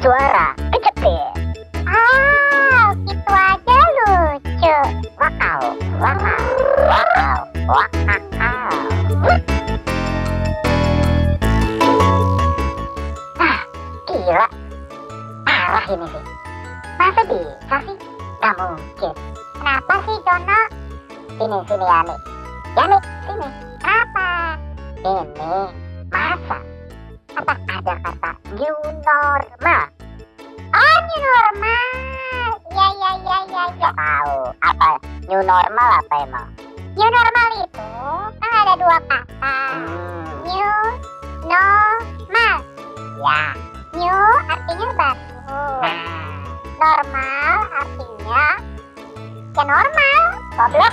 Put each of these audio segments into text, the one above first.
suara kecepit. Gitu aja lucu. Wakau, wakau, wakau, wakau. Gila, parah ini sih. Masa bisa sih? Gak mungkin. Kenapa sih, Dono? Sini, sini Yani. Yani, sini. Kenapa? Ini, masa? Apa ada kata new normal? Oh, new normal. Iya. Gak tahu. Apa? New normal apa emang? New normal itu kan ada dua kata. New normal. Ya. New artinya baru. Normal artinya ya normal. Goblok.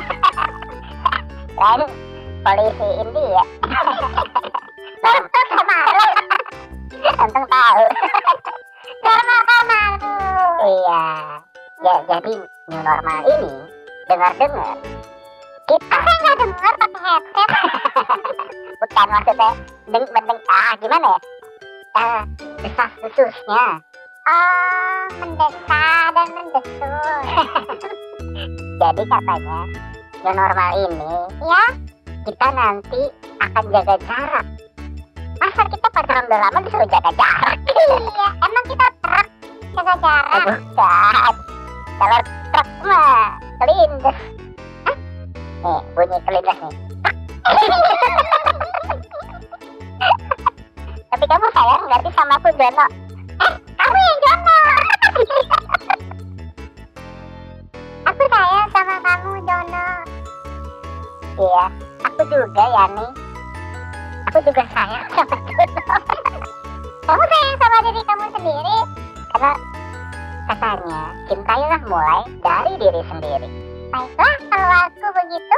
Lain polisi India. Untung sama lu. Untung tahu. Normal sama lu. Iya. Ya jadi new normal ini dengar-dengar kita Saya nggak dengar pakai headset. bukan maksudnya gimana ya? Desas-desusnya. Oh, mendesak dan mendesur. Jadi katanya new normal ini Ya, kita nanti akan jaga jarak. Masa kita pacaran udah lama disuruh jaga jarak? iya. Emang kita truk jaga jarak. Bukan. Kalau truk mah kelindes. Nih bunyi kelindes nih. Tapi kamu sayang nggak sih sama aku, Jono? Kamu yang Jono. Aku sayang sama kamu, Jono. Iya, aku juga Yani. Aku juga sayang sama Jono. Kamu sayang sama diri kamu sendiri. Karena katanya cintailah mulai dari diri sendiri. Baiklah, kalau aku begitu.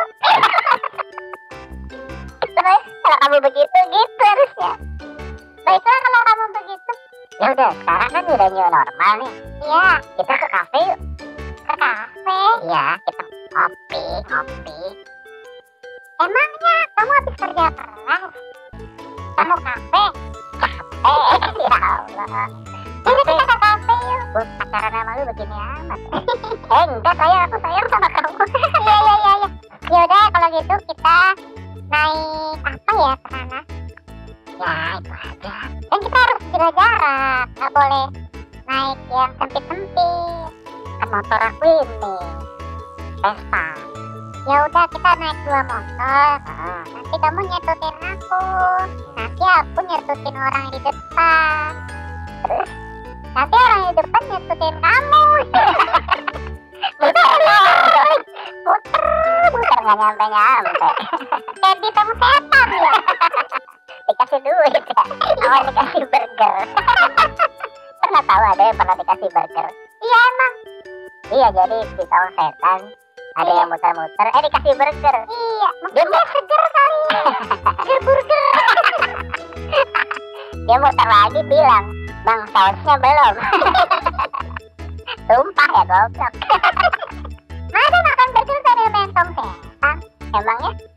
Terus kalau kamu begitu gitu harusnya. Baiklah, kalau kamu begitu. Ya udah, sekarang kan udah new normal nih. Iya, Kita ke kafe yuk. ke kafe. Iya, kita ngopi. Emangnya kamu habis kerja keras? Kamu kafe? Ya Allah. Jadi kita ke kafe yuk. Buat pacaran sama lu begini amat. Enggak, aku sayang sama kamu. Iya. Yaudah, kalau gitu kita naik apa ya ke sana? Ya, itu aja. Dan kita harus jaga jarak. Nggak boleh naik yang sempit-sempit. Kan motor aku ini Vespa. Ya udah, kita naik 2 motor. Nanti kamu nyetutin aku. Nanti aku nyetutin orang di depan. Terus Nanti orang di depan nyetutin kamu. muter nggak nyampe. Kayak di tong setan ya. Dikasih duit ya, awal dikasih burger. Pernah tahu ada yang pernah dikasih burger? Iya emang. Iya, jadi di tong setan ada yang muter-muter, dikasih burger. Iya, mungkin dia seger kali. Seger burger. Dia muter lagi bilang, "Bang, sausnya belum." Tumpah ya, goblok. Masa makan burger sambil main tong setan? Emangnya